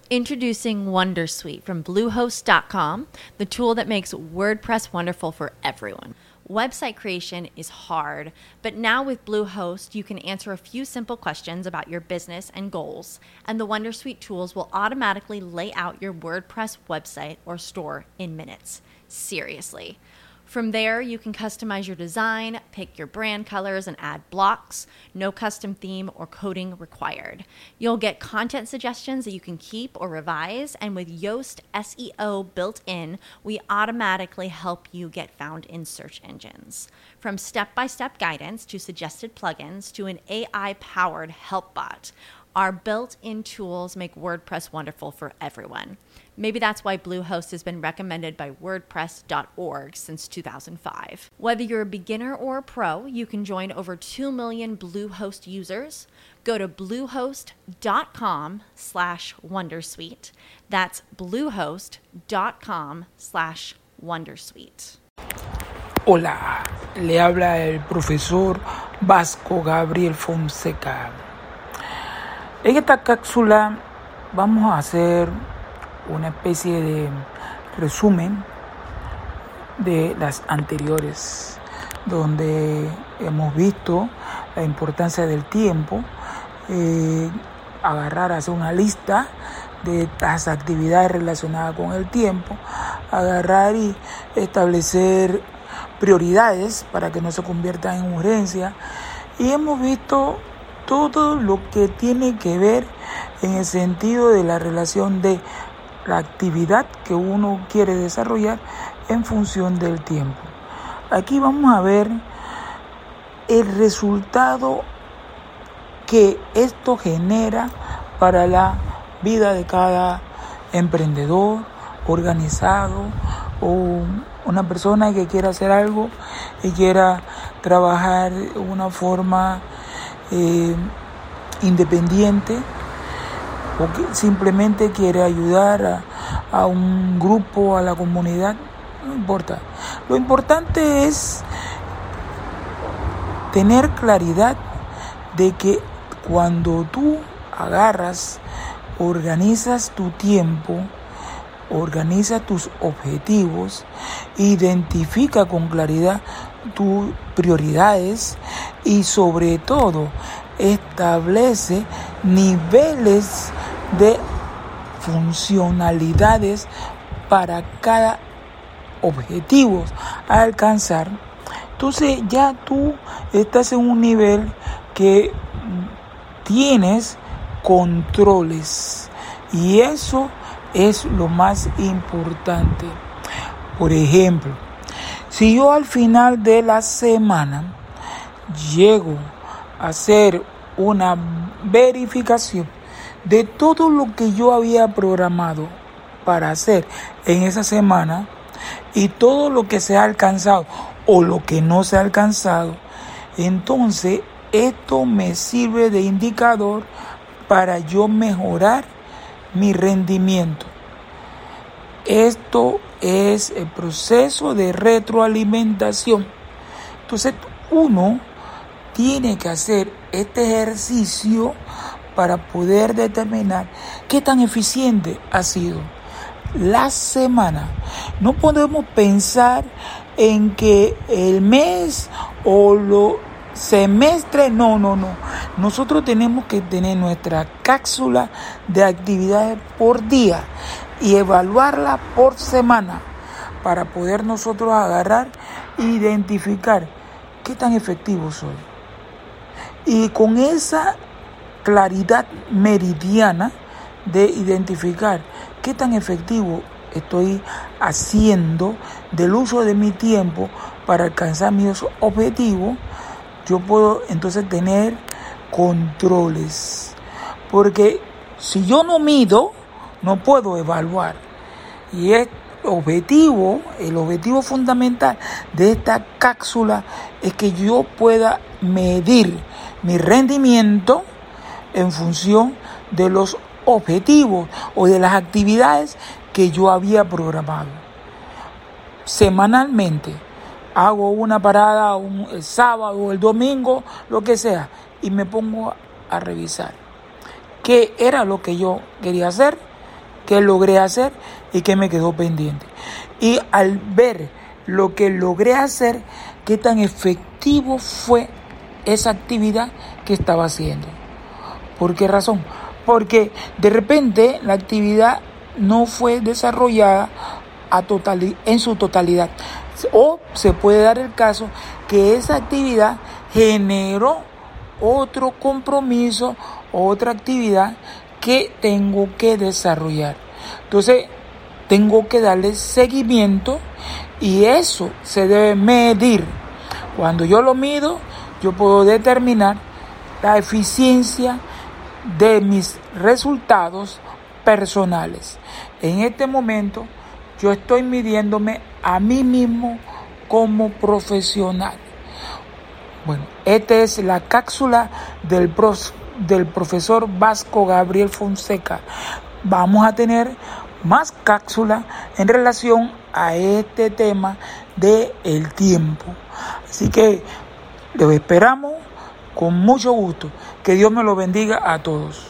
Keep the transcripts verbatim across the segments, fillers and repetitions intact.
Introducing Wondersuite from Bluehost dot com, the tool that makes WordPress wonderful for everyone. Website creation is hard, but now with Bluehost, you can answer a few simple questions about your business and goals, and the Wondersuite tools will automatically lay out your WordPress website or store in minutes. Seriously. From there, you can customize your design, pick your brand colors, and add blocks. No custom theme or coding required. You'll get content suggestions that you can keep or revise, and with Yoast S E O built in, we automatically help you get found in search engines. From step-by-step guidance to suggested plugins to an A I-powered help bot, our built-in tools make WordPress wonderful for everyone. Maybe that's why Bluehost has been recommended by WordPress dot org since two thousand five. Whether you're a beginner or a pro, you can join over two million Bluehost users. Go to bluehost dot com slash wondersuite. That's bluehost dot com slash wondersuite. Hola, le habla el profesor Vasco Gabriel Fonseca. En esta cápsula vamos a hacer una especie de resumen de las anteriores, donde hemos visto la importancia del tiempo, eh, agarrar, hacer una lista de las actividades relacionadas con el tiempo, agarrar y establecer prioridades para que no se conviertan en urgencia, y hemos visto todo lo que tiene que ver en el sentido de la relación de la actividad que uno quiere desarrollar en función del tiempo. Aquí vamos a ver el resultado que esto genera para la vida de cada emprendedor, organizado o una persona que quiera hacer algo y quiera trabajar de una forma eh, independiente, o que simplemente quiere ayudar a, a un grupo, a la comunidad, no importa. Lo importante es tener claridad de que cuando tú agarras, organizas tu tiempo, organiza tus objetivos, identifica con claridad tus prioridades y sobre todo establece niveles de funcionalidades para cada objetivo a alcanzar. Entonces ya tú estás en un nivel que tienes controles y eso es lo más importante. Por ejemplo, si yo al final de la semana llego a hacer una verificación de todo lo que yo había programado para hacer en esa semana y todo lo que se ha alcanzado o lo que no se ha alcanzado, entonces esto me sirve de indicador para yo mejorar mi rendimiento. Esto es el proceso de retroalimentación. Entonces uno tiene que hacer este ejercicio para poder determinar qué tan eficiente ha sido la semana. No podemos pensar en que el mes o los semestres, no, no, no. Nosotros tenemos que tener nuestra cápsula de actividades por día y evaluarla por semana para poder nosotros agarrar e identificar qué tan efectivo soy. Y con esa claridad meridiana de identificar qué tan efectivo estoy haciendo del uso de mi tiempo para alcanzar mis objetivos, yo puedo entonces tener controles. Porque si yo no mido, no puedo evaluar. Y el objetivo, el objetivo fundamental de esta cápsula es que yo pueda medir mi rendimiento en función de los objetivos o de las actividades que yo había programado. Semanalmente hago una parada un, el sábado o el domingo, lo que sea, y me pongo a revisar qué era lo que yo quería hacer qué logré hacer y qué me quedó pendiente. Y al ver lo que logré hacer, qué tan efectivo fue esa actividad que estaba haciendo. ¿Por qué razón? Porque de repente la actividad no fue desarrollada a total, en su totalidad. O se puede dar el caso que esa actividad generó otro compromiso, otra actividad que tengo que desarrollar. Entonces, tengo que darle seguimiento y eso se debe medir. Cuando yo lo mido, yo puedo determinar la eficiencia de mis resultados personales. En este momento, yo estoy midiéndome a mí mismo como profesional. Bueno, esta es la cápsula del, prof, del profesor Vasco Gabriel Fonseca. Vamos a tener más cápsulas en relación a este tema del tiempo. Así que los esperamos con mucho gusto. Que Dios me lo bendiga a todos.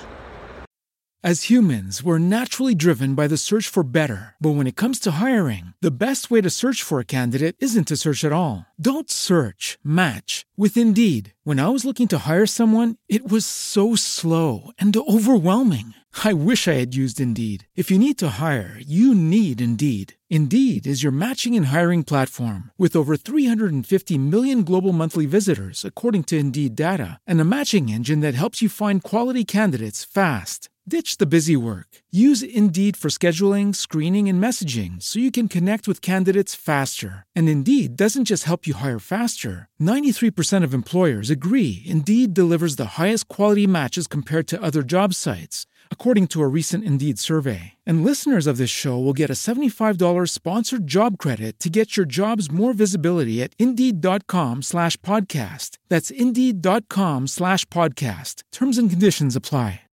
As humans, we're naturally driven by the search for better. But when it comes to hiring, the best way to search for a candidate isn't to search at all. Don't search, match with Indeed. When I was looking to hire someone, it was so slow and overwhelming. I wish I had used Indeed. If you need to hire, you need Indeed. Indeed is your matching and hiring platform with over three hundred fifty million global monthly visitors, according to Indeed data, and a matching engine that helps you find quality candidates fast. Ditch the busy work. Use Indeed for scheduling, screening, and messaging so you can connect with candidates faster. And Indeed doesn't just help you hire faster. ninety-three percent of employers agree Indeed delivers the highest quality matches compared to other job sites, according to a recent Indeed survey. And listeners of this show will get a seventy-five dollars sponsored job credit to get your jobs more visibility at Indeed.com slash podcast. That's Indeed.com slash podcast. Terms and conditions apply.